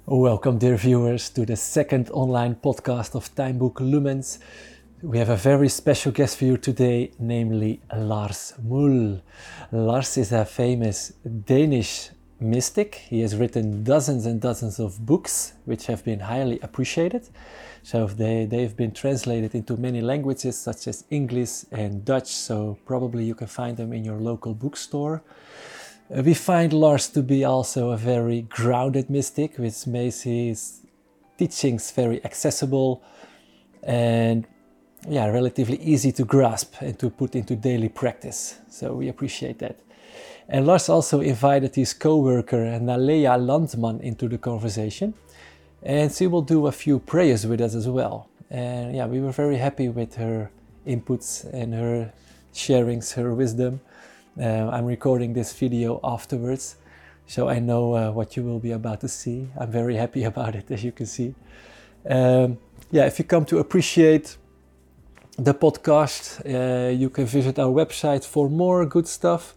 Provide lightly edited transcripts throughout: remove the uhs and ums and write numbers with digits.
Welcome, dear viewers, to the second online podcast of Timebook Lumens. We have a very special guest for you today, namely Lars Muhl. Lars is a famous Danish mystic. He has written dozens and dozens of books, which have been highly appreciated. So they've been translated into many languages, such as English and Dutch. So probably you can find them in your local bookstore. We find Lars to be also a very grounded mystic, which makes his teachings very accessible and relatively easy to grasp and to put into daily practice. So we appreciate that. And Lars also invited his co-worker Nalea Landman into the conversation, and she will do a few prayers with us as well. And we were very happy with her inputs and her sharings, her wisdom. I'm recording this video afterwards, so I know what you will be about to see. I'm very happy about it, as you can see. If you come to appreciate the podcast, you can visit our website for more good stuff.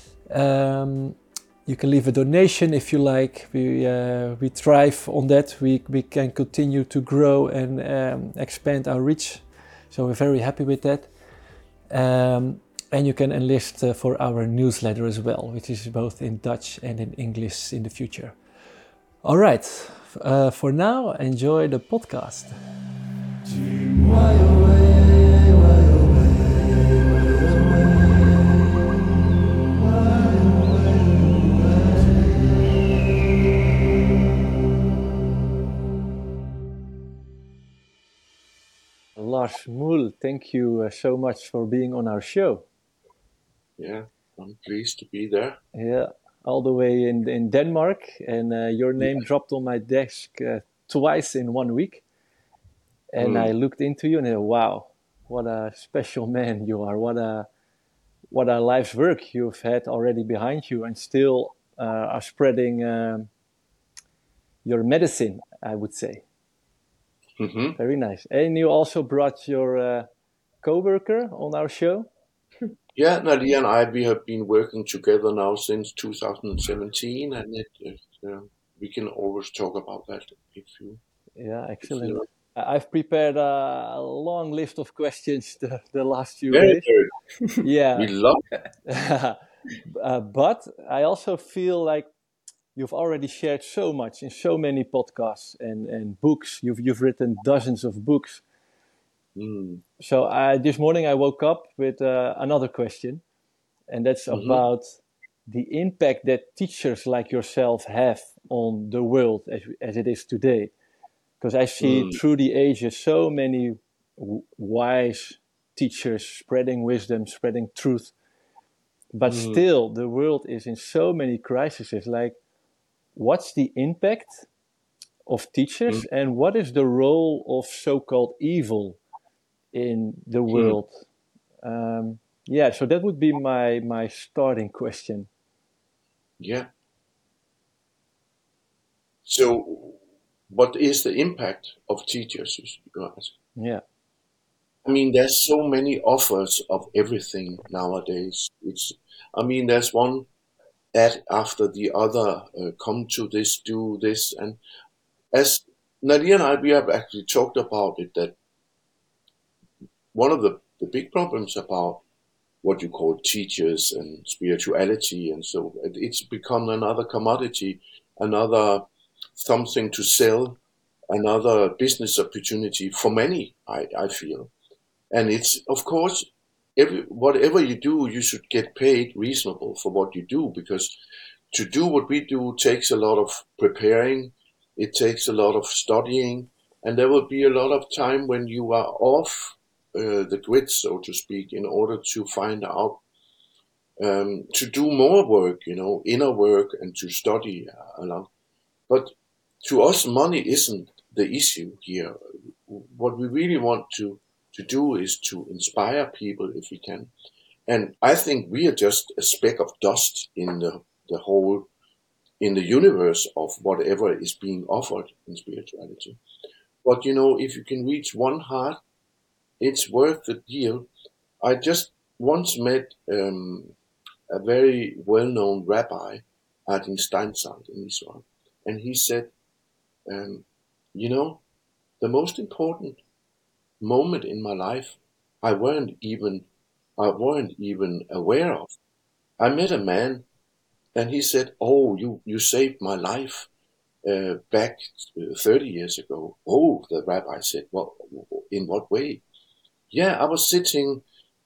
You can leave a donation if you like. We thrive on that. We can continue to grow and expand our reach, so we're very happy with that. And you can enlist for our newsletter as well, which is both in Dutch and in English in the future. All right, for now, enjoy the podcast. Lars Muhl, thank you so much for being on our show. Yeah, I'm pleased to be there. Yeah, all the way in Denmark, and your name dropped on my desk twice in 1 week. And I looked into you and I, wow, what a special man you are. What a life's work you've had already behind you, and still are spreading your medicine, I would say. Mm-hmm. Very nice. And you also brought your co-worker on our show. Yeah, Nadia and I, we have been working together now since 2017, and we can always talk about that if you. Yeah, excellent. I've prepared a long list of questions the last few Very days. good. Yeah. We love it. But I also feel like you've already shared so much in so many podcasts and books. You've written dozens of books. So this morning I woke up with another question, and that's about the impact that teachers like yourself have on the world as it is today. Because I see through the ages so many wise teachers spreading wisdom, spreading truth. But still, the world is in so many crises. Like, what's the impact of teachers, and what is the role of so-called evil in the world? So that would be my starting question. Yeah. So, what is the impact of teachers, you ask? Yeah. I mean, there's so many offers of everything nowadays. There's one ad after the other. Come to this, do this, and as Nadia and I, we have actually talked about it, that one of the big problems about what you call teachers and spirituality, and so it's become another commodity, another something to sell, another business opportunity for many, I feel. And it's, of course, whatever you do, you should get paid reasonable for what you do, because to do what we do takes a lot of preparing, it takes a lot of studying, and there will be a lot of time when you are off the grid, so to speak, in order to find out, to do more work, inner work, and to study along. But to us, money isn't the issue here. What we really want to do is to inspire people if we can. And I think we are just a speck of dust in the whole, in the universe of whatever is being offered in spirituality. But if you can reach one heart, it's worth the deal. I just once met a very well-known rabbi, Adin Steinsaltz in Israel, and he said, And you know, the most important moment in my life, I weren't even I weren't even aware of. I met a man, and he said, "Oh, you saved my life back 30 years ago." Oh, the rabbi said, "Well, in what way?" Yeah, I was sitting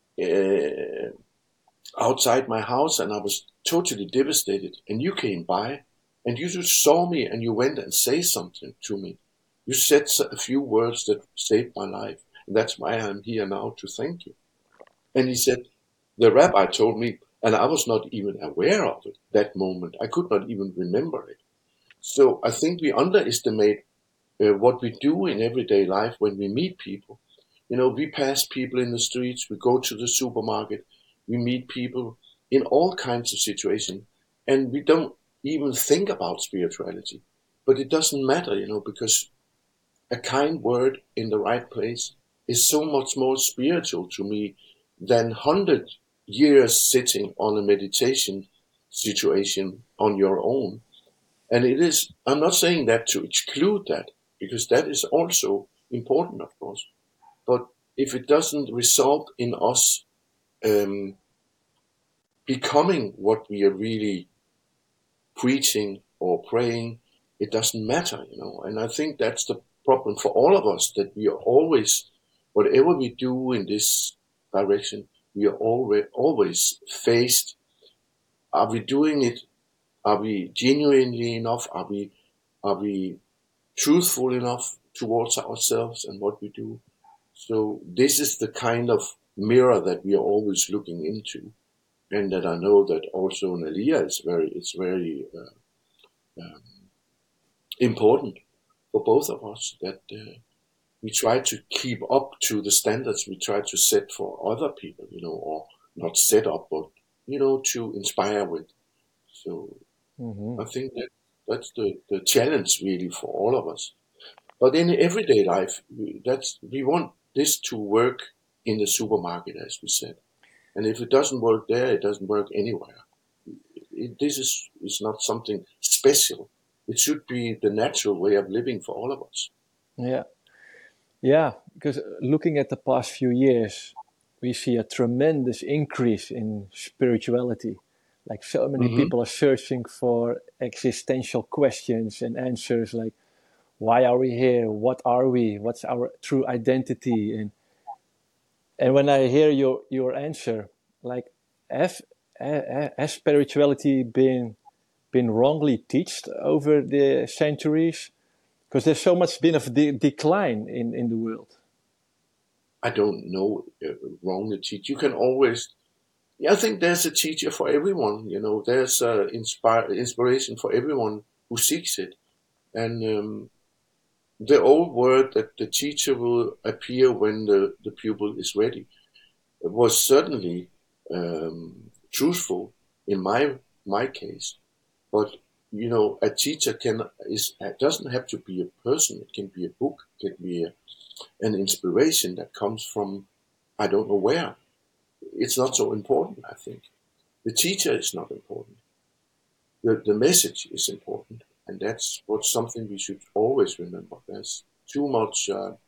uh, outside my house, and I was totally devastated. And you came by, and you just saw me, and you went and say something to me. You said a few words that saved my life, and that's why I'm here now to thank you. And he said, the rabbi told me, and I was not even aware of it that moment. I could not even remember it. So I think we underestimate what we do in everyday life when we meet people. You know, we pass people in the streets, we go to the supermarket, we meet people in all kinds of situations, and we don't even think about spirituality. But it doesn't matter, you know, because a kind word in the right place is so much more spiritual to me than 100 years sitting on a meditation situation on your own. And it is, I'm not saying that to exclude that, because that is also important, of course. But if it doesn't result in us um, becoming what we are really preaching or praying, it doesn't matter, you know. And I think that's the problem for all of us, that we are always, whatever we do in this direction, we are always faced. Are we doing it? Are we genuinely enough? Are we truthful enough towards ourselves and what we do? So this is the kind of mirror that we are always looking into, and that I know that also in Aliyah it's very um, important for both of us, that we try to keep up to the standards we try to set for other people, you know, or not set up, but you know, to inspire with. So Hmm. I think that that's the challenge really for all of us. But in everyday life, we want this to work in the supermarket, as we said. And if it doesn't work there, it doesn't work anywhere. This is not something special. It should be the natural way of living for all of us. Yeah, yeah. Because looking at the past few years, we see a tremendous increase in spirituality. Like so many Hmm. people are searching for existential questions and answers, like why are we here? What are we? What's our true identity? And when I hear your answer, like, have, has spirituality been wrongly taught over the centuries? Because there's so much been of decline in the world. I don't know wrong to teach. You can always, yeah, I think there's a teacher for everyone. You know, there's inspiration for everyone who seeks it. And the old word that the teacher will appear when the pupil is ready was certainly truthful in my case. But you know, a teacher can is doesn't have to be a person. It can be a book. It can be an inspiration that comes from I don't know where. It's not so important. I think the teacher is not important. The message is important, and that's what's something we should always remember. There's too much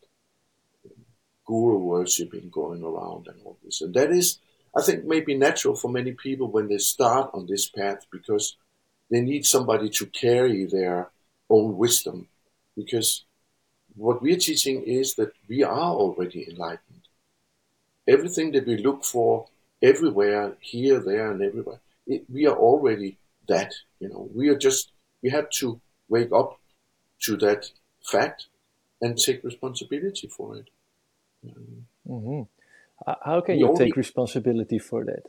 guru worshipping going around and all this. And that is, I think, maybe natural for many people when they start on this path, because they need somebody to carry their own wisdom. Because what we're teaching is that we are already enlightened. Everything that we look for everywhere, here, there, and everywhere, we are already that. You know, we have to wake up to that fact and take responsibility for it. Hmm. How can We you take only responsibility for that?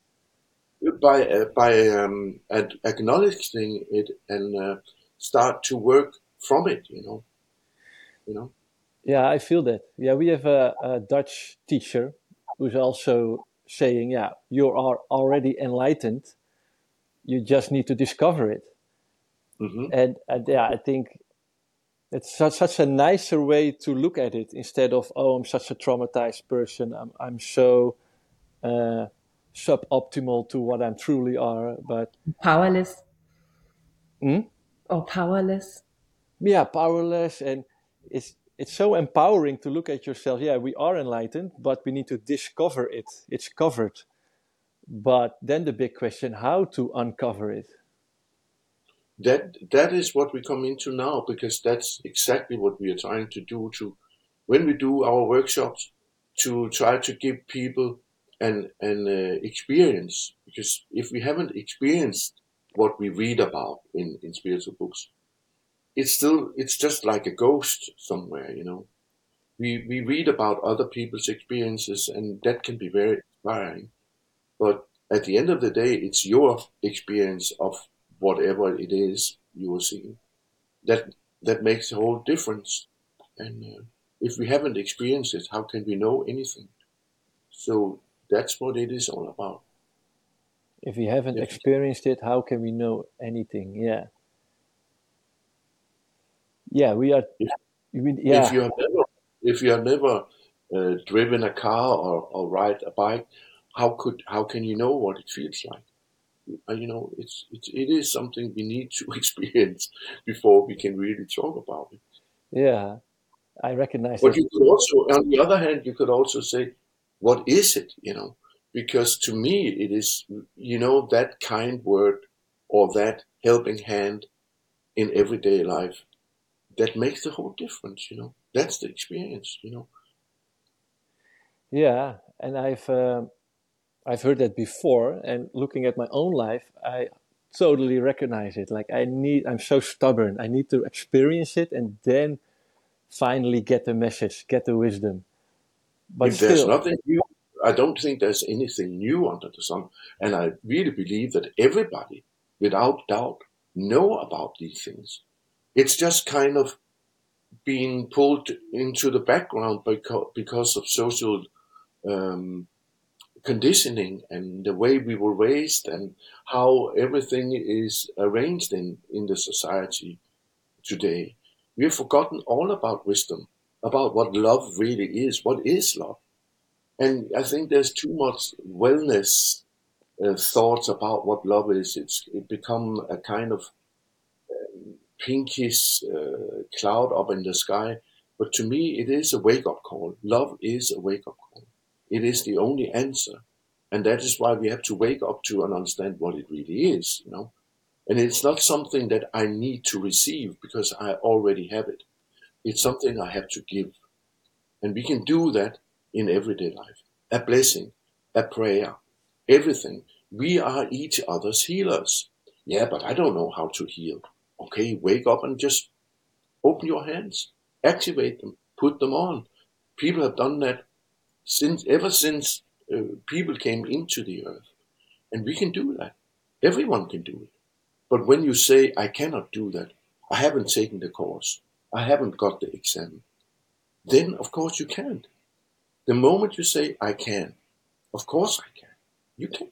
by acknowledging it and start to work from it. You know. Yeah, I feel that. Yeah, we have a Dutch teacher who's also saying, yeah, you are already enlightened. You just need to discover it. Hmm. And yeah, I think it's such a nicer way to look at it, instead of, oh, I'm such a traumatized person. I'm so uh, suboptimal to what I'm truly are. But Powerless hmm? or powerless. yeah, powerless, and it's so empowering to look at yourself. Yeah, we are enlightened, but we need to discover it. It's covered, but then the big question: how to uncover it? That is what we come into now, because that's exactly what we are trying to do, to when we do our workshops, to try to give people an experience, because if we haven't experienced what we read about in spiritual books, it's just like a ghost somewhere, we read about other people's experiences, and that can be very inspiring, but at the end of the day, it's your experience of whatever it is you are seeing that that makes a whole difference. And if we haven't experienced it, how can we know anything? So that's what it is all about. If we haven't If experienced it, how can we know anything? Yeah, yeah, we are. if, if Yeah, you have never if you have never driven a car or ride a bike, how can you know what it feels like? It is something we need to experience before we can really talk about it. yeah, I recognize But that. you could also, on the other hand, you could also say, what is it? Because to me, it is, that kind word or that helping hand in everyday life that makes the whole difference. That's the experience. Yeah, and I've heard that before, and looking at my own life, I totally recognize it. Like I'm so stubborn. I need to experience it and then finally get the message, get the wisdom. But If there's still, nothing new, I don't think there's anything new under the sun. And I really believe that everybody, without doubt, know about these things. It's just kind of being pulled into the background because of social um, conditioning and the way we were raised and how everything is arranged in the society today. We have forgotten all about wisdom, about what love really is. What is love? And I think there's too much wellness thoughts about what love is. It become a kind of pinkish cloud up in the sky. But to me, it is a wake up call. Love is a wake up call. It is the only answer. And that is why we have to wake up to and understand what it really is. And it's not something that I need to receive because I already have it. It's something I have to give. And we can do that in everyday life. A blessing, a prayer, everything. We are each other's healers. Yeah, but I don't know how to heal. Okay, wake up and just open your hands, activate them, put them on. People have done that ever since people came into the earth, and we can do that. Everyone can do it. But when you say I cannot do that, I haven't taken the course, I haven't got the exam, then of course you can't. The moment you say I can, of course I can. You can.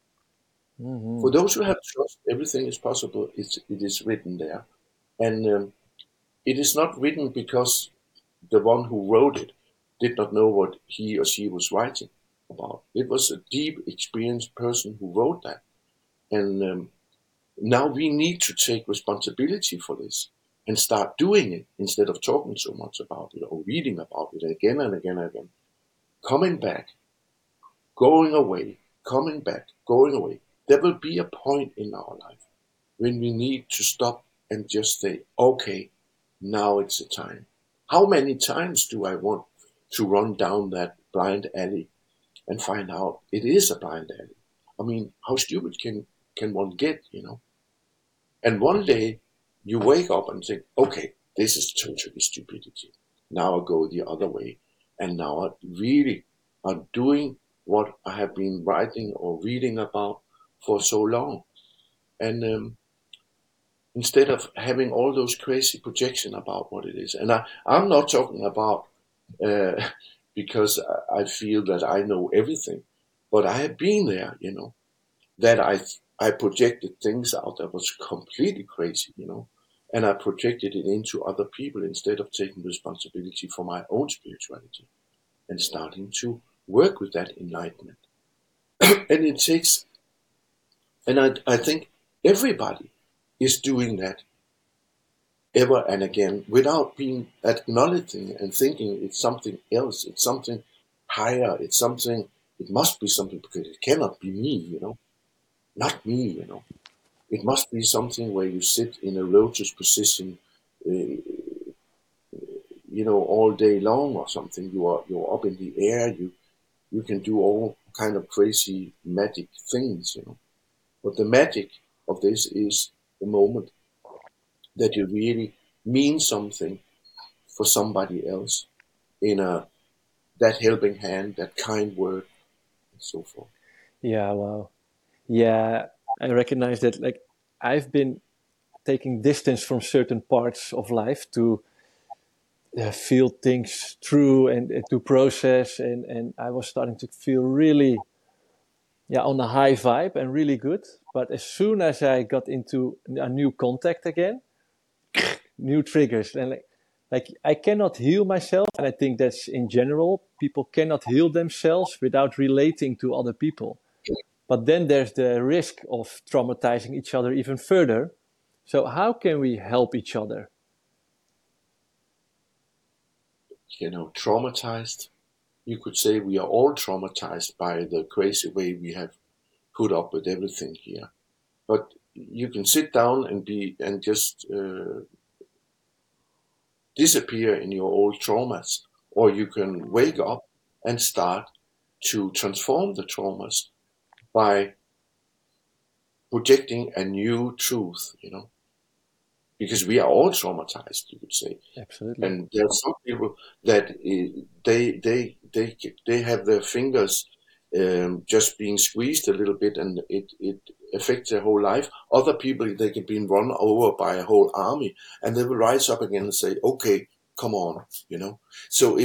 For mhm. those who have trust, everything is possible. It is written there, and it is not written because the one who wrote it did not know what he or she was writing about. It was a deep, experienced person who wrote that. And now we need to take responsibility for this and start doing it instead of talking so much about it or reading about it again and again and again. Coming back, going away, coming back, going away. There will be a point in our life when we need to stop and just say, okay, now it's the time. How many times do I want to run down that blind alley and find out it is a blind alley? I mean, how stupid can one get? And one day you wake up and think, okay, this is totally stupidity. Now I go the other way. And now I really am doing what I have been writing or reading about for so long. And instead of having all those crazy projection about what it is. And I'm not talking about uh, because I feel that I know everything, but I have been there, that I projected things out that was completely crazy, and I projected it into other people instead of taking responsibility for my own spirituality and starting to work with that enlightenment. And it takes, and I think everybody is doing that ever and again without being acknowledging and thinking it's something else, it's something higher, it's something, it must be something because it cannot be me, not me, It must be something where you sit in a lotus position, uh, all day long or something. You're up in the air. You can do all kind of crazy magic things, But the magic of this is the moment that you really mean something for somebody else in that helping hand, that kind word, and so forth. Yeah, wow. Yeah, I recognize that. Like, I've been taking distance from certain parts of life to feel things through and to process, and I was starting to feel really, yeah, on a high vibe and really good. But as soon as I got into a new contact again, new triggers, and like I cannot heal myself, and I think that's in general, people cannot heal themselves without relating to other people. But then there's the risk of traumatizing each other even further. So how can we help each other? Traumatized. You could say we are all traumatized by the crazy way we have put up with everything here. But you can sit down and just disappear in your old traumas, or you can wake up and start to transform the traumas by projecting a new truth, because we are all traumatized, you could say. Absolutely. And there are some people that they have their fingers just being squeezed a little bit, and it affects their whole life. Other people, they can be run over by a whole army, and they will rise up again and say, "Okay, come on," So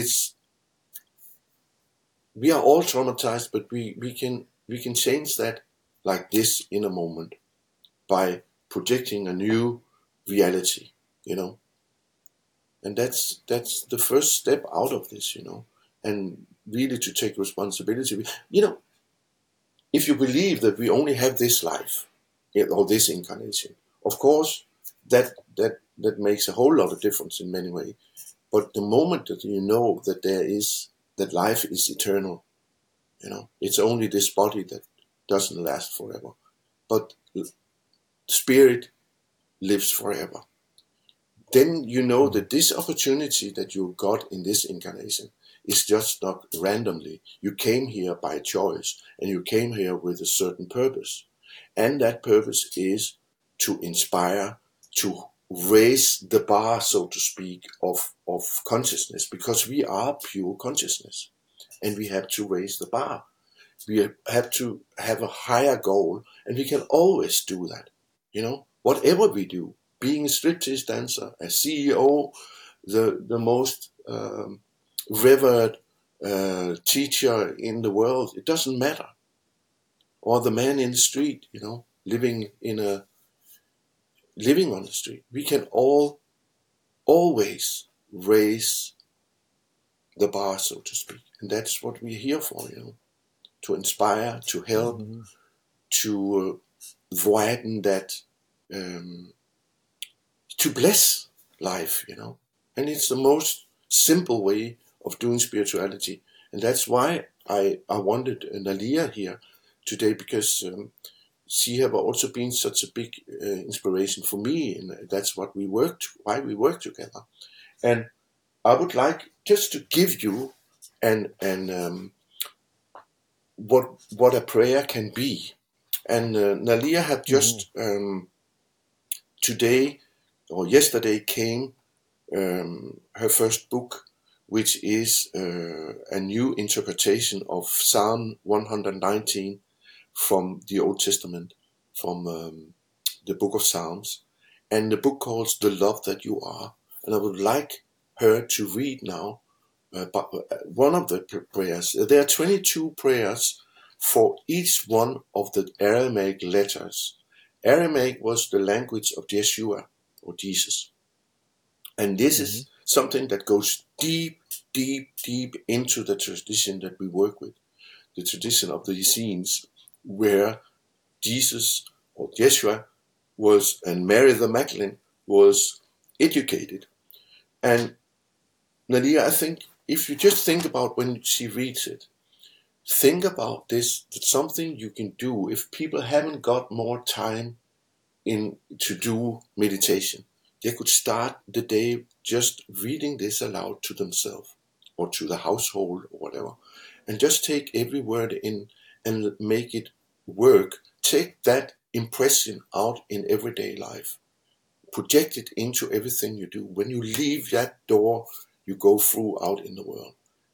we are all traumatized, but we can change that like this in a moment by projecting a new reality, you know. And that's the first step out of this, and really to take responsibility. If you believe that we only have this life, or this incarnation, of course, that makes a whole lot of difference in many ways. But the moment that you know that life is eternal, it's only this body that doesn't last forever, but spirit lives forever. Then you know that this opportunity that you got in this incarnation is just not randomly. You came here by choice, and you came here with a certain purpose. And that purpose is to inspire, to raise the bar, so to speak, of consciousness, because we are pure consciousness, and we have to raise the bar. We have to have a higher goal, and we can always do that. Whatever we do, being a striptease dancer, a CEO, the most revered teacher in the world, it doesn't matter. Or the man in the street, living on the street. We can always raise the bar, so to speak, and that's what we're here for. To inspire, to help, Mm-hmm. to widen that, to bless life, And it's the most simple way of doing spirituality. And that's why I wanted Nalia here today, because she have also been such a big inspiration for me. And that's why we work together. And I would like just to give you and what a prayer can be. And Nalia had Mm-hmm. just today or yesterday came her first book, which is a new interpretation of Psalm 119 from the Old Testament, from the book of Psalms, and the book calls The Love That You Are. And I would like her to read now one of the prayers. There are 22 prayers for each one of the Aramaic letters. Aramaic was the language of Yeshua, or Jesus. And this Mm-hmm. is something that goes deep, deep, deep into the tradition that we work with, the tradition of the Essenes, where Jesus or Yeshua was, and Mary the Magdalene was educated. And Nadia, I think if you just think about when she reads it, think about this, that's something you can do if people haven't got more time in to do meditation. They could start the day just reading this aloud to themselves or to the household or whatever, and just take every word in and make it work. Take that impression out in everyday life. Project it into everything you do. When you leave that door, you go through out in the world.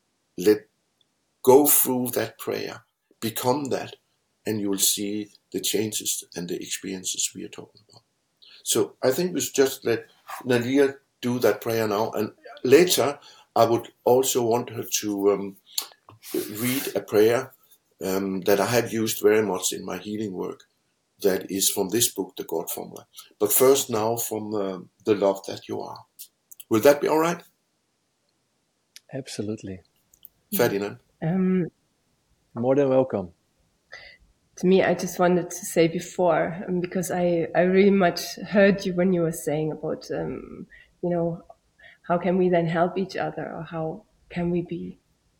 Go through that prayer, become that, and you will see the changes and the experiences we are talking about. So I think we should just let Nadia do that prayer now, and later I would also want her to read a prayer that I have used very much in my healing work, that is from this book, The God Formula. But first now from The Love That You Are. Will that be all right? Absolutely. Ferdinand? More than welcome. To me, I just wanted to say before, because I really much heard you when you were saying about, how can we then help each other, or how can we be,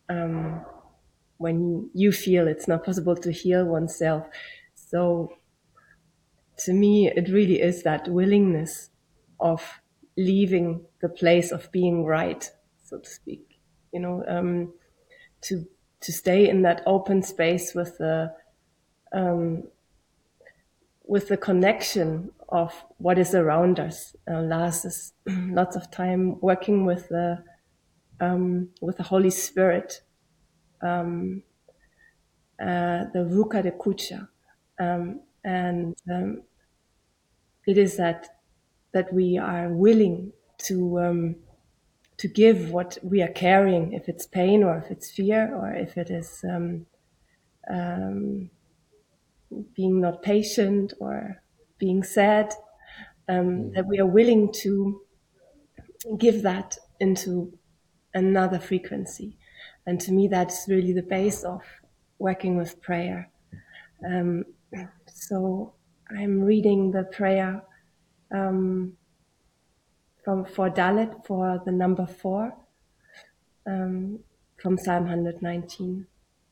when you feel it's not possible to heal oneself. So to me, it really is that willingness of leaving the place of being right, so to speak, to stay in that open space with the connection of what is around us. Lars is lots of time working with the Holy Spirit, the Ruka de Kucha, and it is that we are willing to give what we are carrying, if it's pain or if it's fear or if it is being not patient or being sad, that we are willing to give that into another frequency. And to me, that's really the base of working with prayer. So I'm reading the prayer for Dalit, for the number 4, from Psalm 119.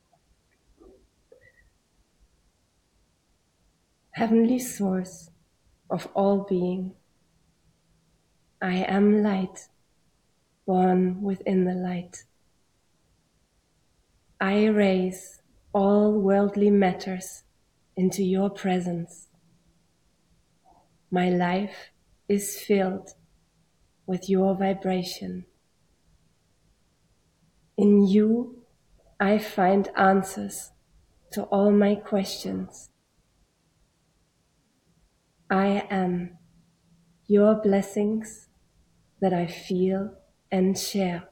Heavenly source of all being, I am light, born within the light. I raise all worldly matters into your presence. My life is filled with your vibration. In you, I find answers to all my questions. I am your blessings that I feel and share.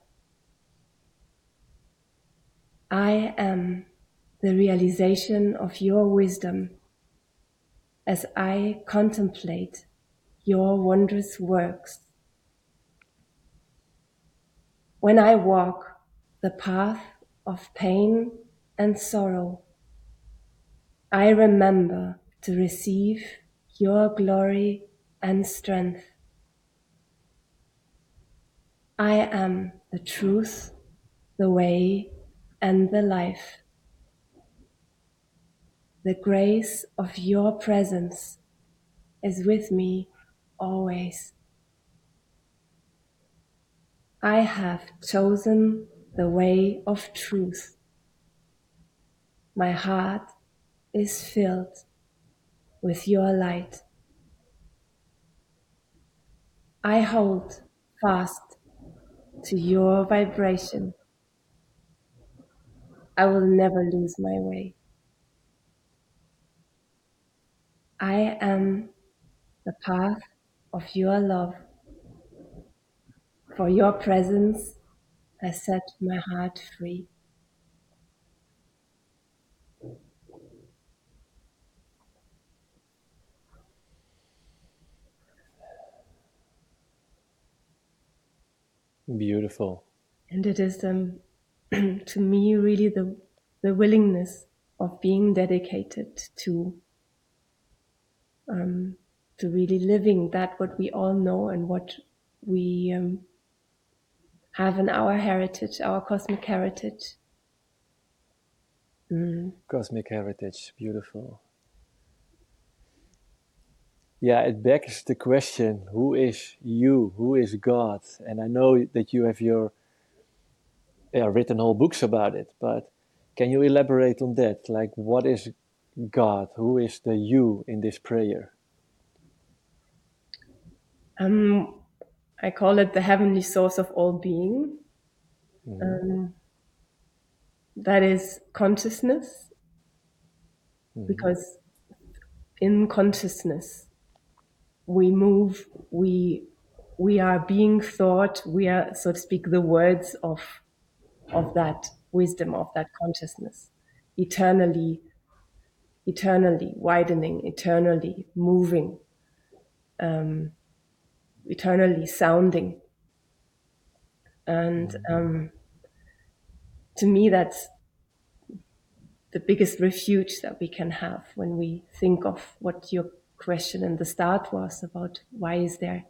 I am the realization of your wisdom as I contemplate your wondrous works. When I walk the path of pain and sorrow, I remember to receive your glory and strength. I am the truth, the way, and the life. The grace of your presence is with me always. I have chosen the way of truth. My heart is filled with your light. I hold fast to your vibration. I will never lose my way. I am the path of your love. For your presence has set my heart free. Beautiful. And it is to me really the willingness of being dedicated to really living that what we all know and what we have in our heritage, our cosmic heritage. Cosmic heritage, beautiful. Yeah, it begs the question, who is you? Who is God? And I know that you have written whole books about it, but can you elaborate on that? Like, what is God? Who is the you in this prayer? I call it the heavenly source of all being. That is consciousness, because in consciousness we move, we are being thought, we are, so to speak, the words of that wisdom, of that consciousness, eternally widening, eternally moving, eternally sounding. And to me, that's the biggest refuge that we can have when we think of what your question in the start was about: why is there,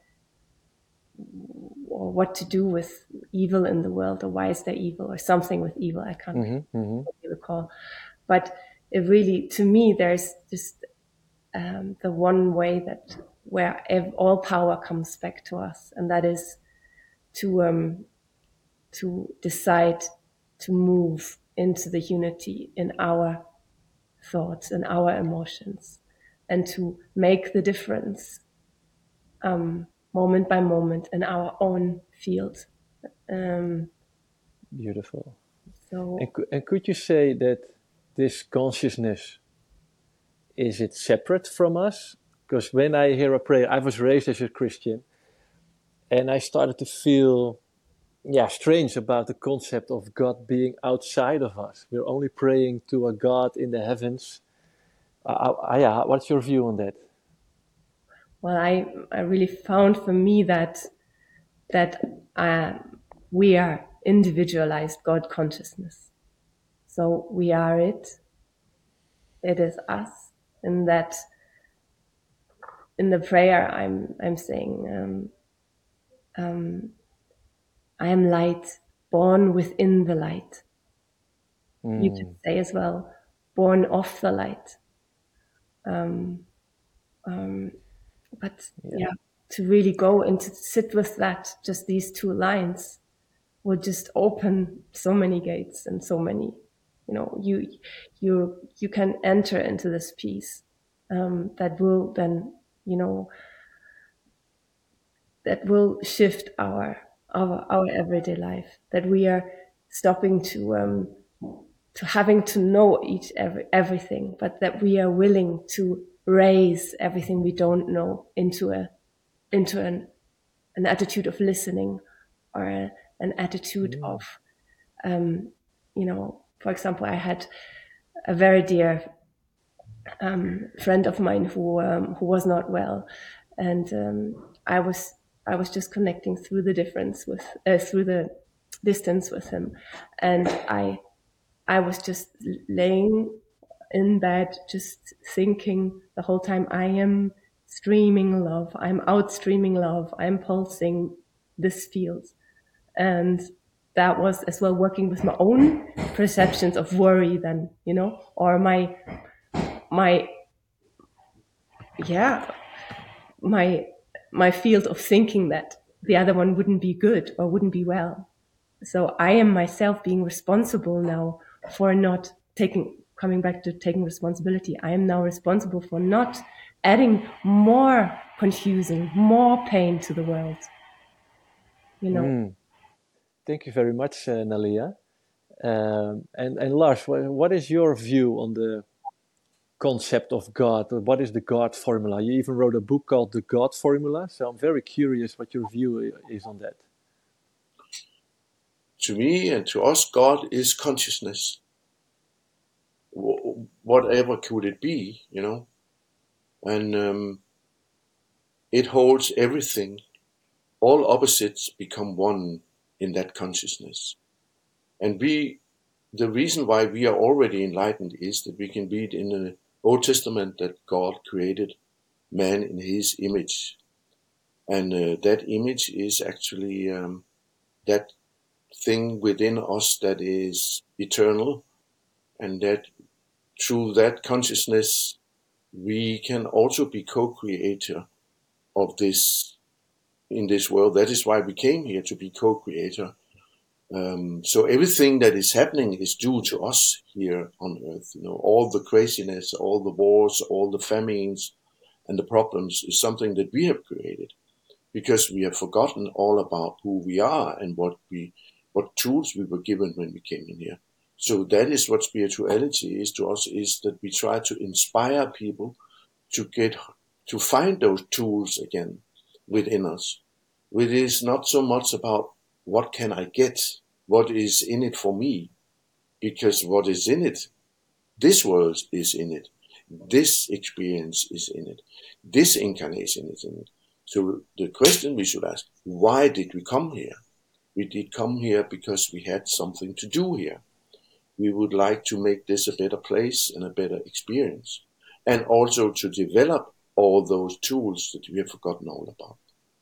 or what to do with evil in the world, or why is there evil, or something with evil. I can't really recall. But it really, to me, there's just the one way that where all power comes back to us, and that is to decide to move into the unity in our thoughts and our emotions, and to make the difference moment by moment in our own field. Beautiful. So, And could you say that this consciousness, is it separate from us? Because when I hear a prayer, I was raised as a Christian, and I started to feel strange about the concept of God being outside of us. We're only praying to a God in the heavens. What's your view on that? well, I really found for me that we are individualized God consciousness. So we are it. It is us. And that in the prayer, I'm saying, I am light, born within the light. You could say as well, born of the light. But to really go and to sit with that, just these two lines, will just open so many gates and so many, you can enter into this peace that will then, that will shift our everyday life. That we are stopping to having to know everything, but that we are willing to raise everything we don't know into an attitude of listening, or an attitude of, for example, I had a very dear friend of mine who was not well, and I was just connecting through the through the distance with him, and I was just laying in bed, just thinking the whole time, I am streaming love, I'm outstreaming love, I'm pulsing this field. And that was as well working with my own perceptions of worry then, or my field of thinking that the other one wouldn't be good or wouldn't be well. So I am myself being responsible now for not coming back to taking responsibility. I am now responsible for not adding more confusing, more pain to the world. Thank you very much, Nalia. And Lars, what is your view on the concept of God? What is the God formula? You even wrote a book called The God Formula, so I'm very curious what your view is on that. To me and to us, God is consciousness. Whatever could it be, and it holds everything. All opposites become one in that consciousness. And the reason why we are already enlightened is that we can read in the Old Testament that God created man in his image. And that image is actually that thing within us that is eternal, and that through that consciousness we can also be co-creator of this in this world. That is why we came here, to be co-creator. So everything that is happening is due to us here on earth. All the craziness, all the wars, all the famines and the problems is something that we have created, because we have forgotten all about who we are and what tools we were given when we came in here. So that is what spirituality is to us, is that we try to inspire people to find those tools again within us. It is not so much about what can I get, what is in it for me, because what is in it, this world is in it, this experience is in it, this incarnation is in it. So the question we should ask, why did we come here? We did come here because we had something to do here. We would like to make this a better place and a better experience, and also to develop all those tools that we have forgotten all about.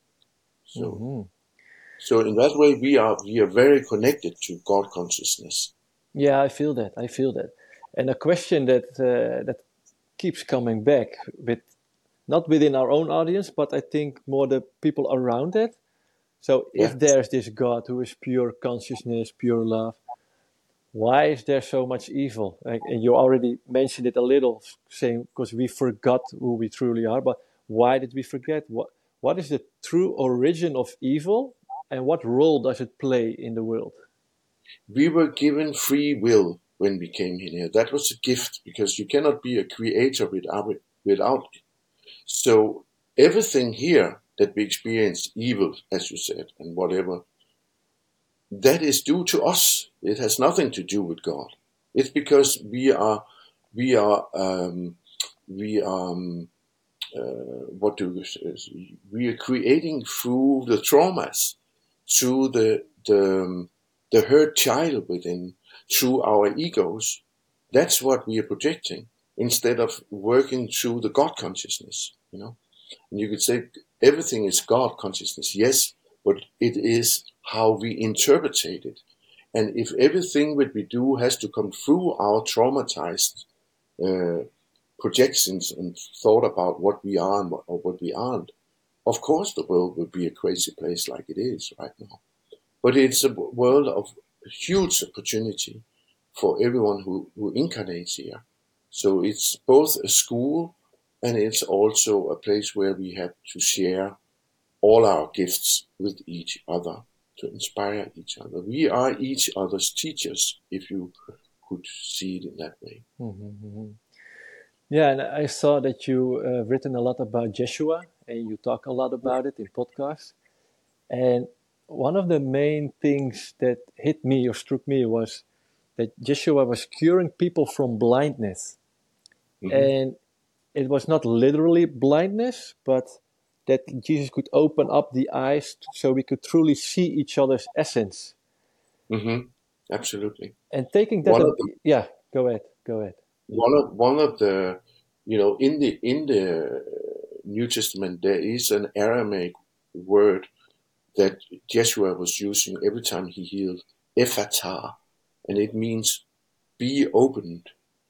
So in that way, we are very connected to God consciousness. Yeah, I feel that. And a question that keeps coming back, with not within our own audience, but I think more the people around it. So if there's this God who is pure consciousness, pure love, why is there so much evil? And you already mentioned it a little, saying because we forgot who we truly are. But why did we forget? What is the true origin of evil, and what role does it play in the world? We were given free will when we came in here. That was a gift, because you cannot be a creator without it. So everything here that we experience, evil, as you said, and whatever, that is due to us. It has nothing to do with God. It's because we are creating through the traumas, through the hurt child within, through our egos. That's what we are projecting, instead of working through the God consciousness. And you could say everything is God consciousness, yes, but it is how we interpret it. And if everything that we do has to come through our traumatized projections and thought about what we are or what we aren't, of course the world will be a crazy place like it is right now. But it's a world of huge opportunity for everyone who incarnates here. So it's both a school, and it's also a place where we have to share all our gifts with each other, to inspire each other. We are each other's teachers, if you could see it in that way. Yeah, and I saw that you written a lot about Jeshua, and you talk a lot about it in podcasts. And one of the main things that hit me or struck me was that Jeshua was curing people from blindness. And it was not literally blindness, but that Jesus could open up the eyes so we could truly see each other's essence. Absolutely. And taking that, go ahead. One of the, in the New Testament, there is an Aramaic word that Jeshua was using every time he healed, Ephata, and it means be opened,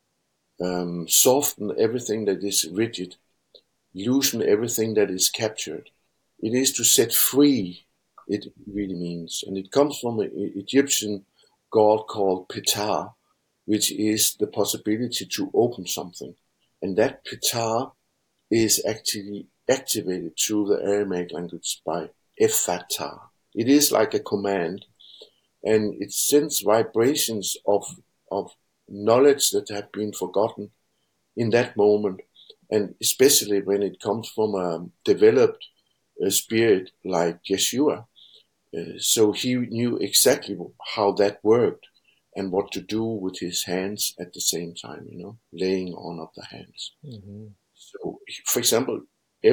soften everything that is rigid, loosen everything that is captured. It is to set free, it really means. And it comes from an Egyptian god called Ptah, which is the possibility to open something. And that Ptah is actually activated through the Aramaic language by Ephata. It is like a command, and it sends vibrations of knowledge that have been forgotten in that moment, and especially when it comes from a developed spirit like Yeshua. So he knew exactly how that worked and what to do with his hands at the same time, laying on of the hands. So, for example,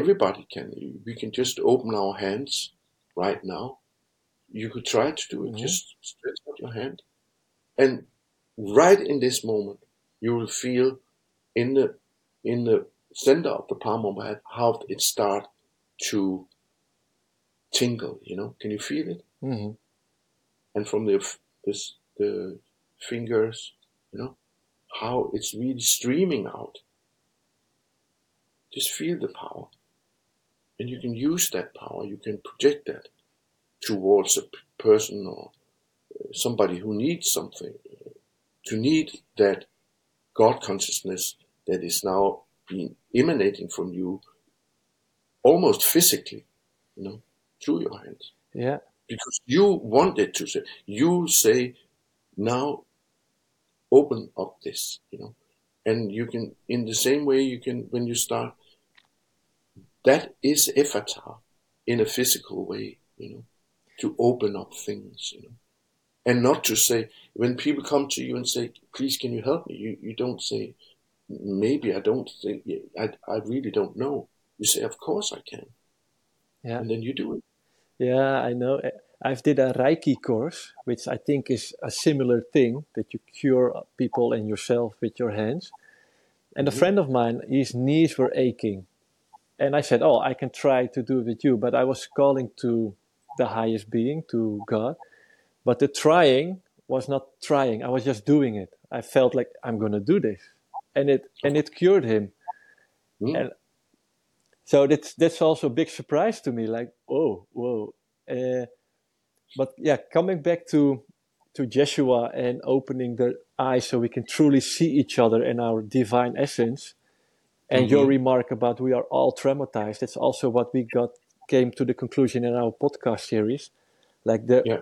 we can just open our hands right now. You could try to do it. Just stretch out your hand. And right in this moment, you will feel in the center of the palm of my hand how it starts to tingle, can you feel it? Mm-hmm. And from the fingers, how it's really streaming out. Just feel the power. And you can use that power, you can project that towards a person or somebody who needs something, to need that God consciousness that is now being emanating from you almost physically, through your hands. Yeah. Because you want it to say, now open up this, and you can, in the same way you can, when you start, that is Ephata in a physical way, to open up things, and not to say, when people come to you and say, please, can you help me? You don't say, maybe I don't think, I really don't know. You say, of course I can. Yeah. And then you do it. Yeah, I know. I've did a Reiki course, which I think is a similar thing, that you cure people and yourself with your hands. And a friend of mine, his knees were aching. And I said, oh, I can try to do it with you. But I was calling to the highest being, to God. But the trying was not trying. I was just doing it. I felt like I'm going to do this. And it cured him. Mm. And so that's also a big surprise to me. Like, oh, whoa. But yeah, coming back to Jeshua and opening the eyes so we can truly see each other in our divine essence, and your remark about we are all traumatized, that's also what we came to the conclusion in our podcast series. Like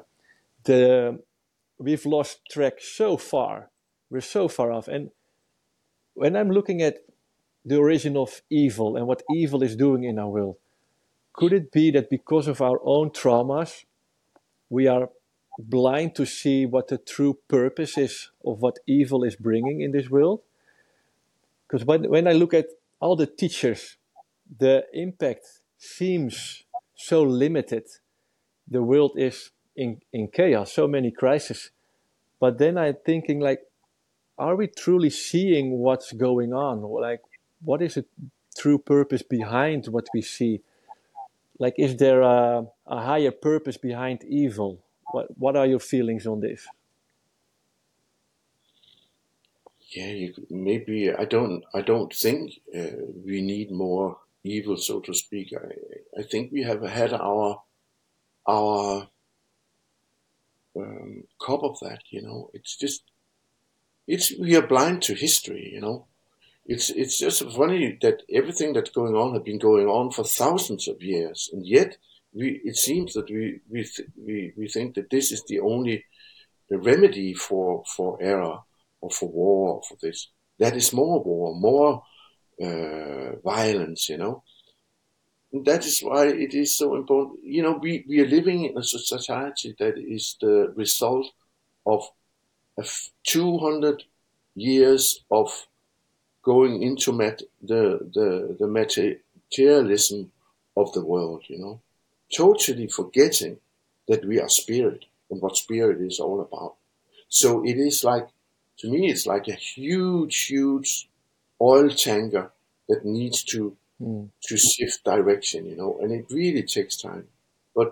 the we've lost track so far. We're so far off. And when I'm looking at the origin of evil and what evil is doing in our world, could it be that because of our own traumas, we are blind to see what the true purpose is of what evil is bringing in this world? Because when I look at all the teachers, the impact seems so limited. The world is in chaos, so many crises. But then I'm thinking, like, are we truly seeing what's going on? Like, what is the true purpose behind what we see? Like, is there a higher purpose behind evil? What are your feelings on this? Yeah, maybe I don't think we need more evil, so to speak. I think we have had our cup of that. It's just we are blind to history. It's just funny that everything that's going on has been going on for thousands of years, and yet it seems that we think that this is the only remedy for error or for war or for this. That is more war, more violence. And that is why it is so important. We are living in a society that is the result of 200 years of going into the materialism of the world, totally forgetting that we are spirit and what spirit is all about. So it is like, to me, it's like a huge, huge oil tanker that needs to shift direction, and it really takes time. But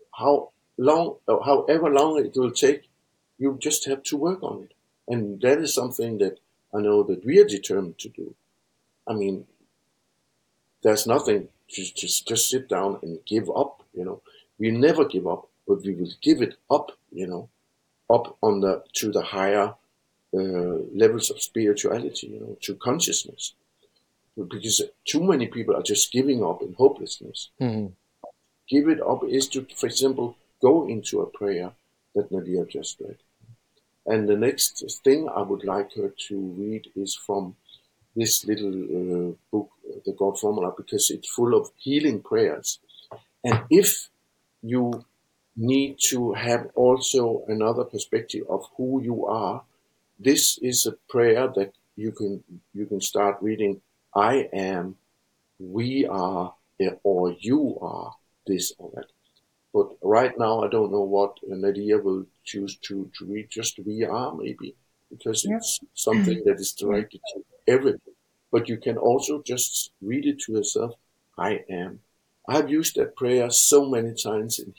however long it will take, you just have to work on it. And that is something that I know that we are determined to do. I mean, there's nothing to just sit down and give up, We never give up, but we will give it up, up to the higher levels of spirituality, to consciousness. Because too many people are just giving up in hopelessness. Mm-hmm. Give it up is to, for example, go into a prayer that Nadia just read. And the next thing I would like her to read is from this little book, The God Formula, because it's full of healing prayers. And if you need to have also another perspective of who you are, this is a prayer that you can start reading. I am, we are, or you are this or that. But right now, I don't know what Nadia will choose to read. Just we are, maybe, because it's something that is directed to everything. But you can also just read it to yourself. I am. I've used that prayer so many times in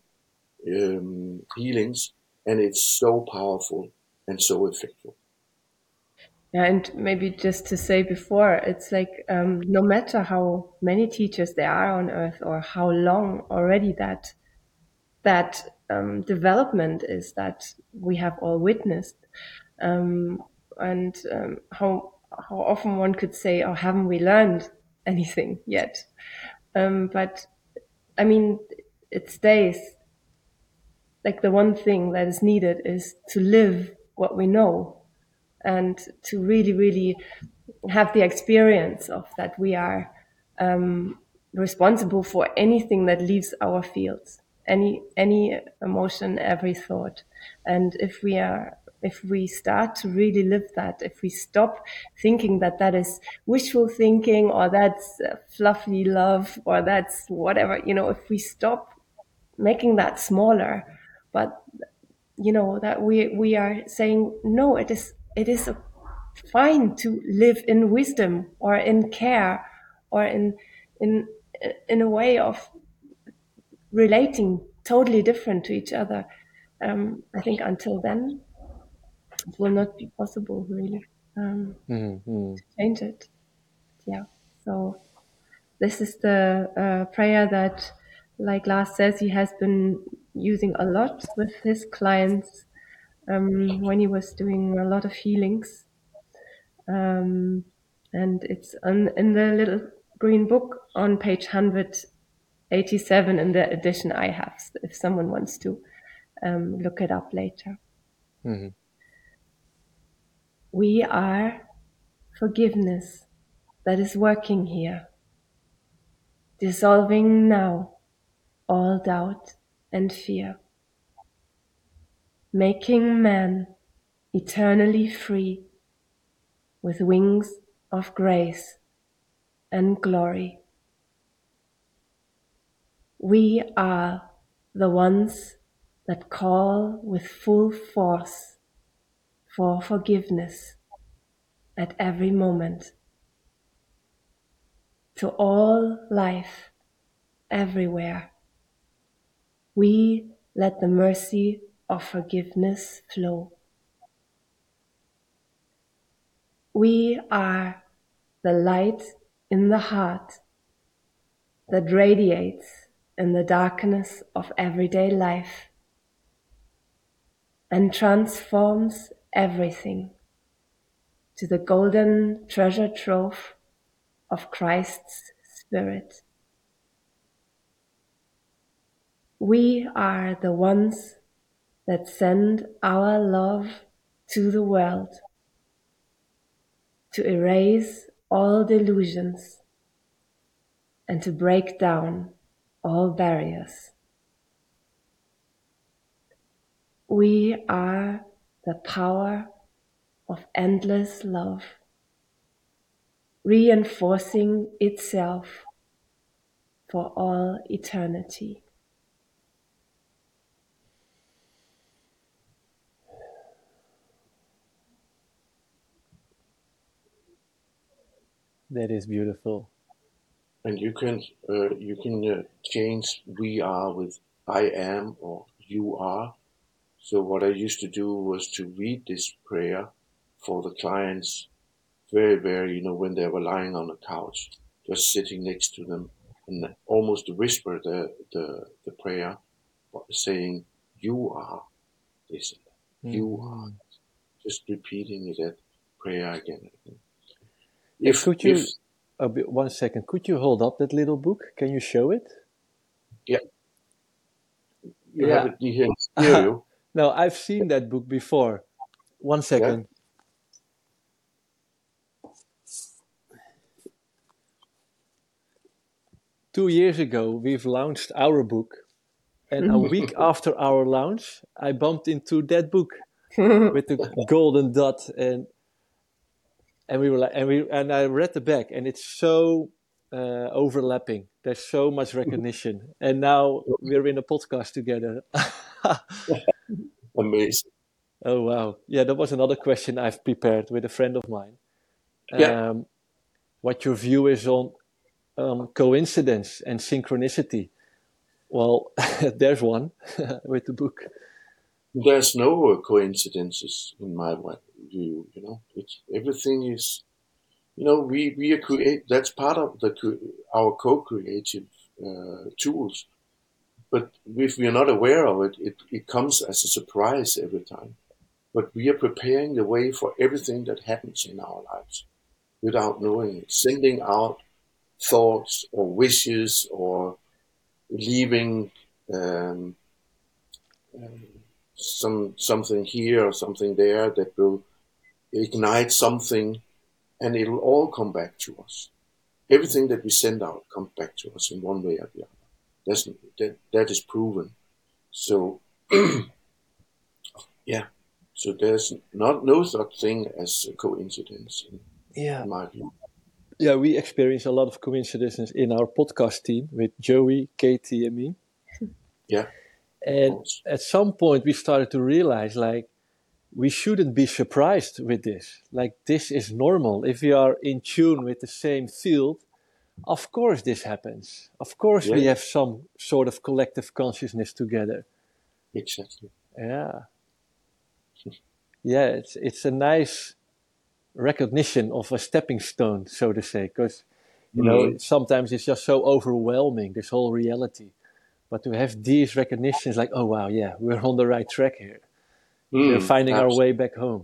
healings, and it's so powerful and so effective. Yeah, and maybe just to say before, it's like no matter how many teachers there are on earth or how long already that development is that we have all witnessed, and how often one could say, "Oh, haven't we learned anything yet?" But I mean, it stays like the one thing that is needed is to live what we know and to really, really have the experience of that we are responsible for anything that leaves our fields, any emotion, every thought. And if we start to really live that, if we stop thinking that that is wishful thinking or that's fluffy love or that's whatever, if we stop making that smaller, but that we are saying no, it is fine to live in wisdom or in care or in in a way of relating totally different to each other. I think until then it will not be possible really to change it. Yeah. So this is the prayer that, like Lars says, he has been using a lot with his clients when he was doing a lot of healings. And it's in the little green book on page 187 in the edition I have, if someone wants to look it up later. Mm-hmm. We are forgiveness that is working here, dissolving now all doubt and fear, making man eternally free with wings of grace and glory. We are the ones that call with full force for forgiveness at every moment. To all life, everywhere, we let the mercy of forgiveness flow. We are the light in the heart that radiates in the darkness of everyday life and transforms everything to the golden treasure trove of Christ's Spirit. We are the ones that send our love to the world to erase all delusions and to break down all barriers. We are the power of endless love, reinforcing itself for all eternity. That is beautiful. And you can change "we are" with "I am" or "you are." So what I used to do was to read this prayer for the clients very, very, when they were lying on the couch, just sitting next to them, and almost whisper the prayer, saying, "You are this, you are," just repeating that prayer again and again. Could you, 1 second, could you hold up that little book? Can you show it? Yeah. You have it here in stereo. No, I've seen that book before. 1 second. Yeah. 2 years ago, we've launched our book. And a week after our launch, I bumped into that book with the golden dot, and we were like, and I read the back, and it's so overlapping. There's so much recognition, and now we're in a podcast together. Amazing. Oh wow! Yeah, that was another question I've prepared with a friend of mine. What your view is on coincidence and synchronicity. Well, there's one with the book. There's no coincidences in my view. It's everything is. We are create. That's part of our co-creative tools. But if we are not aware of it, it comes as a surprise every time. But we are preparing the way for everything that happens in our lives without knowing it, sending out thoughts or wishes or leaving something here or something there that will ignite something, and it'll all come back to us. Everything that we send out comes back to us in one way or the other. That is proven. So yeah. So there's no such thing as a coincidence in my view. Yeah, we experience a lot of coincidences in our podcast team with Joey, Katie, and me. Yeah. And at some point we started to realize, like, we shouldn't be surprised with this. Like, this is normal. If we are in tune with the same field, of course this happens. Of course we have some sort of collective consciousness together. Exactly. Yeah. Yeah, it's a nice recognition of a stepping stone, so to say, because sometimes it's just so overwhelming, this whole reality. But to have these recognitions, like, oh wow, yeah, we're on the right track here. We're finding our way back home.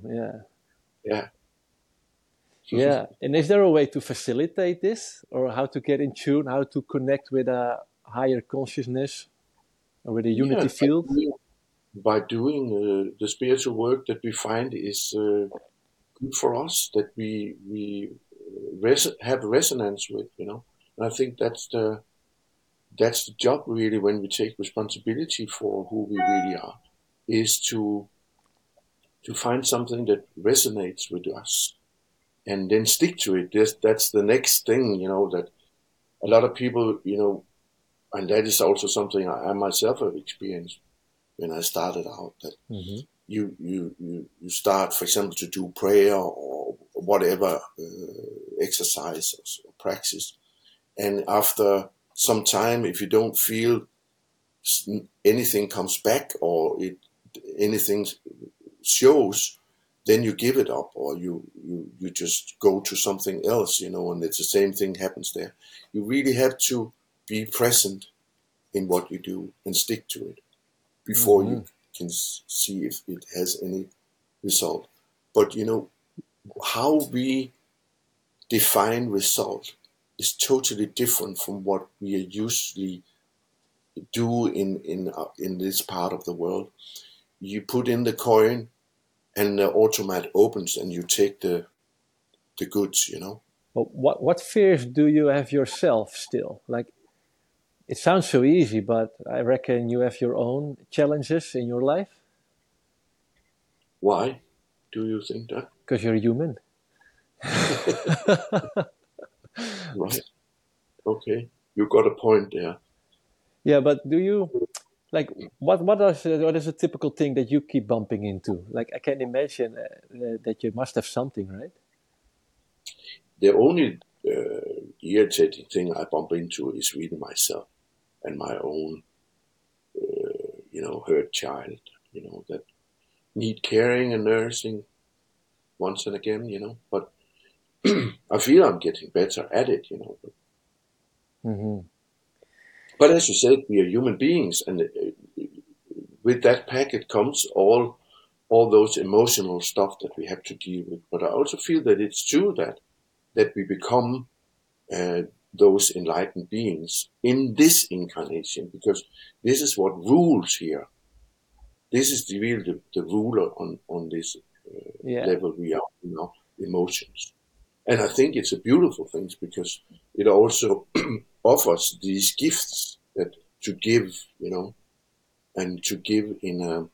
Yeah. And is there a way to facilitate this, or how to get in tune, how to connect with a higher consciousness or with a unity field? By doing the spiritual work that we find is good for us, that we have resonance with, And I think that's the job really, when we take responsibility for who we really are, is to find something that resonates with us and then stick to it. That's the next thing, that a lot of people, and that is also something I myself have experienced when I started out, that you start, for example, to do prayer or whatever exercise or practice, and after some time, if you don't feel anything comes back or anything shows, then you give it up, or you just go to something else, and it's the same thing happens there. You really have to be present in what you do and stick to it before you can see if it has any result. But how we define result is totally different from what we usually do in this part of the world. You put in the coin, and the automat opens, and you take the goods. But what fears do you have yourself still? Like, it sounds so easy, but I reckon you have your own challenges in your life. Why do you think that? Because you're human. Right. Okay. You got a point there. Yeah, but do you, like, what is a typical thing that you keep bumping into? Like, I can imagine that you must have something, right? The only irritating thing I bump into is really myself and my own, hurt child, that need caring and nursing once and again, but I feel I'm getting better at it, But as you said, we are human beings, and with that packet comes all those emotional stuff that we have to deal with. But I also feel that it's true that we become those enlightened beings in this incarnation, because this is what rules here. This is the ruler on this level we are, emotions. And I think it's a beautiful thing, because it also offers these gifts that to give, and to give in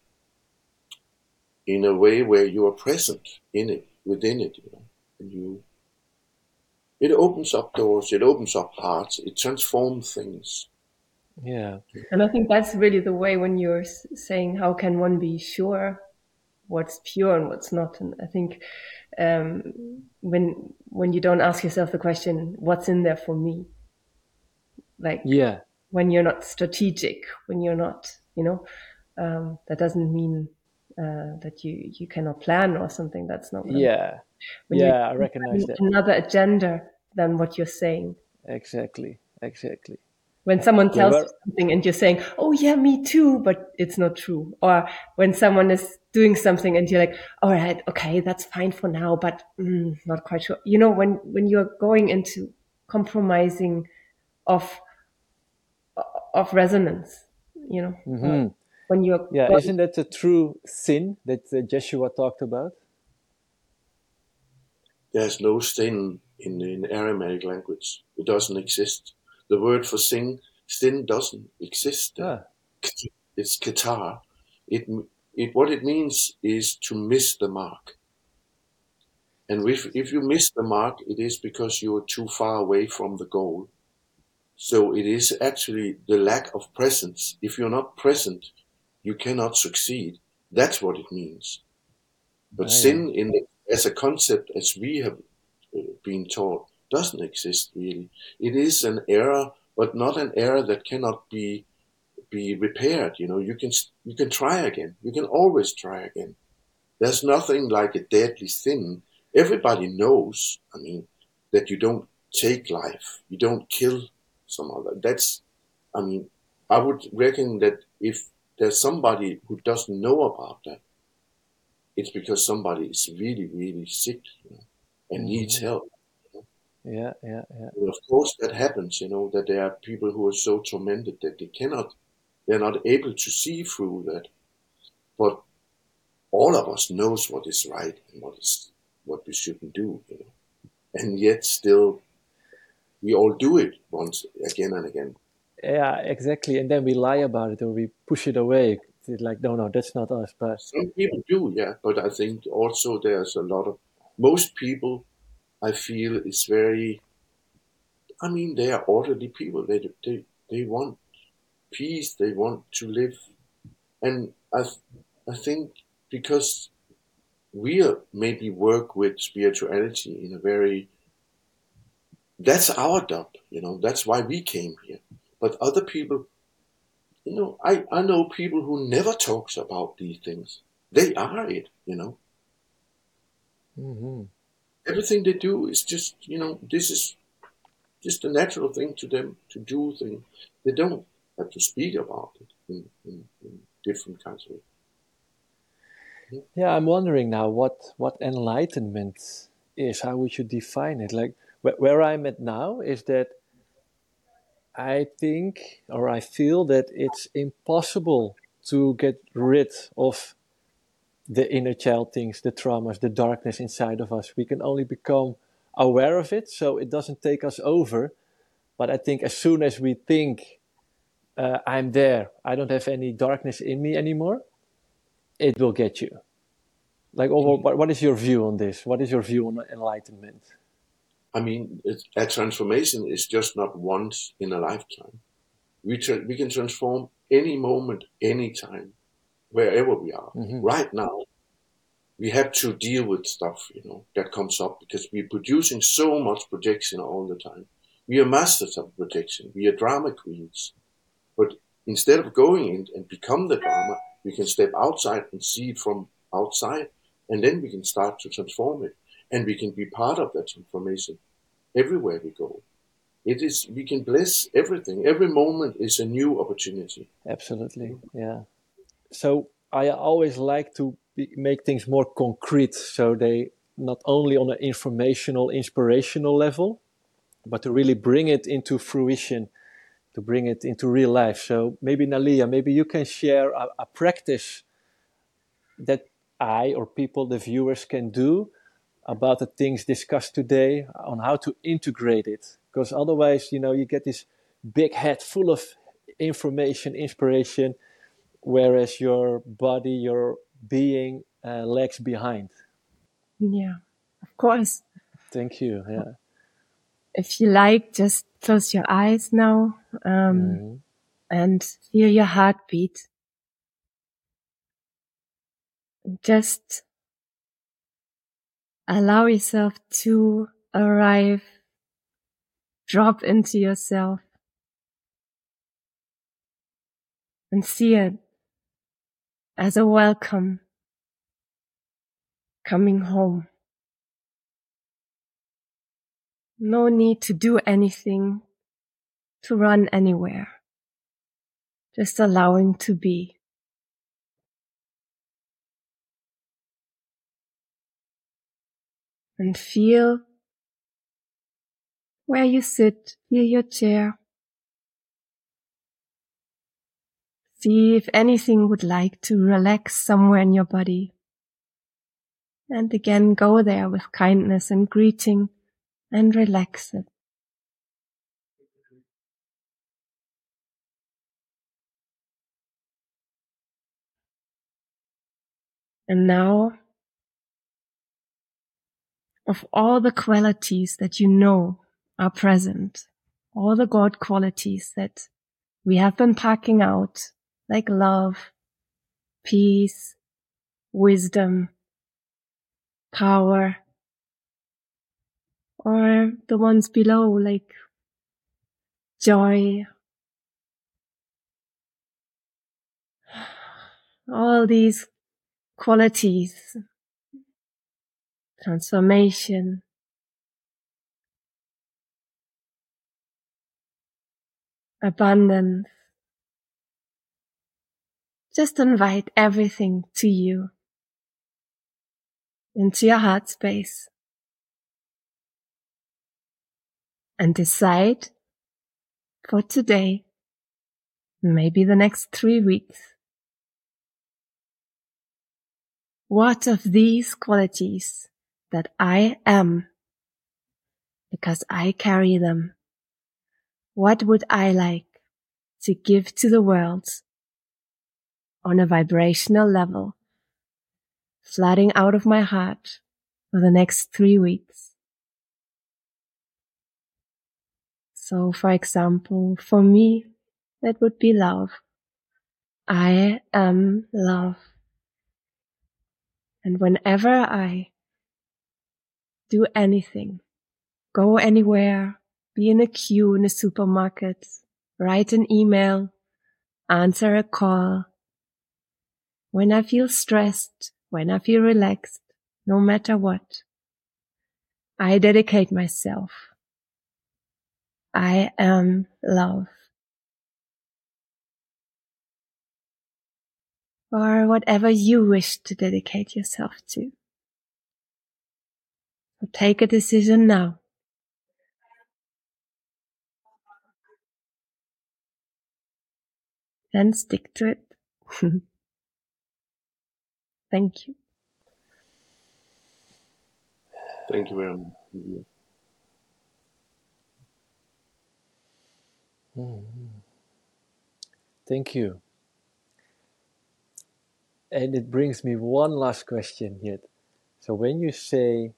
a way where you are present in it, within it, and it opens up doors, it opens up hearts, it transforms things. Yeah. And I think that's really the way, when you're saying how can one be sure what's pure and what's not. And I think when you don't ask yourself the question, what's in there for me, Like Yeah. when you're not strategic, when you're not, that doesn't mean that you cannot plan or something. That's not what I mean. Yeah. When you Yeah, I recognize that. another agenda than what you're saying. Exactly. When someone Yeah, tells you something and you're saying, "Oh yeah, me too," but it's not true. Or when someone is doing something and you're like, "All right, okay, that's fine for now, but not quite sure." When you're going into compromising of resonance, when you're yeah, going, isn't that a true sin that Joshua talked about? There's no sin in Aramaic language. It doesn't exist. The word for sin doesn't exist there. Ah, It's Qatar. What it means is to miss the mark. And if you miss the mark, it is because you're too far away from the goal. So it is actually the lack of presence. If you're not present, you cannot succeed. That's what it means. But yeah. sin as a concept, as we have been taught, doesn't exist really. It is an error, but not an error that cannot be repaired. You can try again. You can always try again. There's nothing like a deadly sin. Everybody knows. I mean, that you don't take life. You don't kill some other. I mean, I would reckon that if there's somebody who doesn't know about that, it's because somebody is really, really sick, and needs help. Yeah. And of course, that happens, that there are people who are so tormented that they're not able to see through that. But all of us knows what is right and what we shouldn't do. And yet still, we all do it once again and again. Yeah, exactly. And then we lie about it or we push it away. It's like, no, that's not us. But Some people do, yeah, but I think also there's most people I feel is very, I mean, they are orderly people. They want peace. They want to live. And I think because we maybe work with spirituality in a very, that's our job. That's why we came here. But other people, I know people who never talks about these things. They are it. mhm. Everything they do is just, this is just a natural thing to them to do things. They don't have to speak about it in different kinds of ways. Yeah, I'm wondering now what enlightenment is. How would you define it? Like where I'm at now is that I think or I feel that it's impossible to get rid of the inner child things, the traumas, the darkness inside of us. We can only become aware of it so it doesn't take us over. But I think as soon as we think, I'm there, I don't have any darkness in me anymore, it will get you. Like, what is your view on this? What is your view on enlightenment? I mean, a transformation is just not once in a lifetime. We can transform any moment, anytime, wherever we are. Right now, we have to deal with stuff, that comes up because we're producing so much projection all the time. We are masters of projection. We are drama queens. But instead of going in and become the drama, we can step outside and see it from outside, and then we can start to transform it. And we can be part of that transformation everywhere we go. We can bless everything. Every moment is a new opportunity. Absolutely, yeah. So I always like to make things more concrete, so they not only on an informational, inspirational level, but to really bring it into fruition, to bring it into real life. So maybe Nalia, maybe you can share a practice that I or people, the viewers, can do about the things discussed today on how to integrate it. Because otherwise, you get this big head full of information, inspiration, whereas your body, your being lags behind. yeah, of course. Thank you. Yeah. If you like, just close your eyes now, and feel your heartbeat. Just allow yourself to arrive, drop into yourself, and see it as a welcome coming home. No need to do anything, to run anywhere. Just allowing to be. And feel where you sit, feel your chair. See if anything would like to relax somewhere in your body. And again, go there with kindness and greeting and relax it. And now, of all the qualities that you know are present, all the God qualities that we have been packing out, like love, peace, wisdom, power, or the ones below, like joy. All these qualities, transformation, abundance. Just invite everything to you, into your heart space, and decide for today, maybe the next 3 weeks, what of these qualities that I am, because I carry them, what would I like to give to the world on a vibrational level, flooding out of my heart for the next 3 weeks. So, for example, for me, that would be love. I am love. And whenever I do anything, go anywhere, be in a queue in a supermarket, write an email, answer a call, when I feel stressed, when I feel relaxed, no matter what, I dedicate myself. I am love. Or whatever you wish to dedicate yourself to. So take a decision now. And stick to it. Thank you. Thank you very much. Thank you. And it brings me one last question yet. So when you say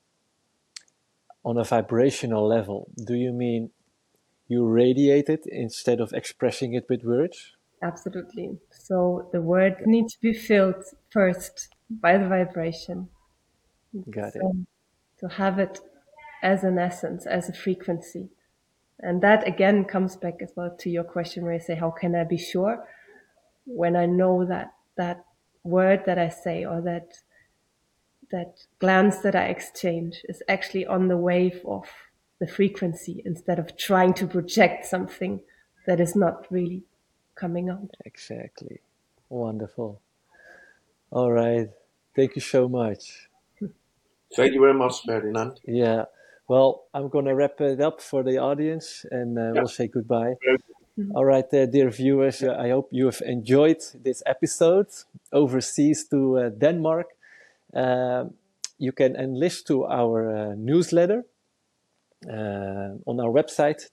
on a vibrational level, do you mean you radiate it instead of expressing it with words? Absolutely. So the word needs to be filled first by the vibration. Got it. To have it as an essence, as a frequency. And that again comes back as well to your question where you say, how can I be sure? When I know that word that I say or that glance that I exchange is actually on the wave of the frequency instead of trying to project something that is not really coming out. Exactly. Wonderful. All right. Thank you so much. Thank you very much, Ferdinand. Yeah. Well, I'm going to wrap it up for the audience and we'll say goodbye. All right, dear viewers, I hope you have enjoyed this episode overseas to Denmark. You can enlist to our newsletter on our website,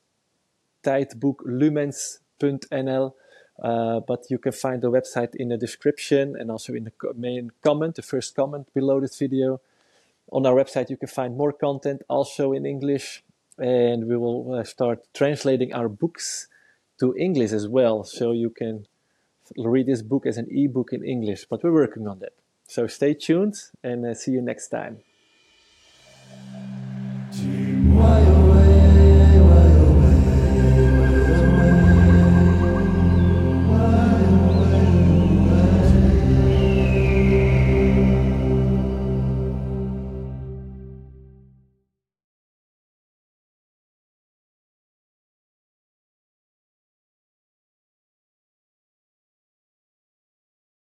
tijdboeklumens.nl. But you can find the website in the description and also in the main comment, the first comment below this video. On our website, you can find more content also in English, and we will start translating our books to English as well, so you can read this book as an ebook in English, but we're working on that. So stay tuned and see you next time.